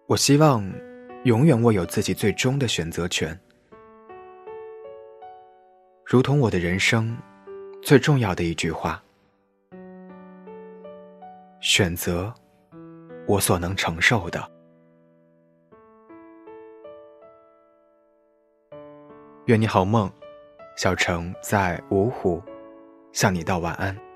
我希望永远握有自己最终的选择权，如同我的人生最重要的一句话：选择我所能承受的。愿你好梦，小城在芜湖向你道晚安。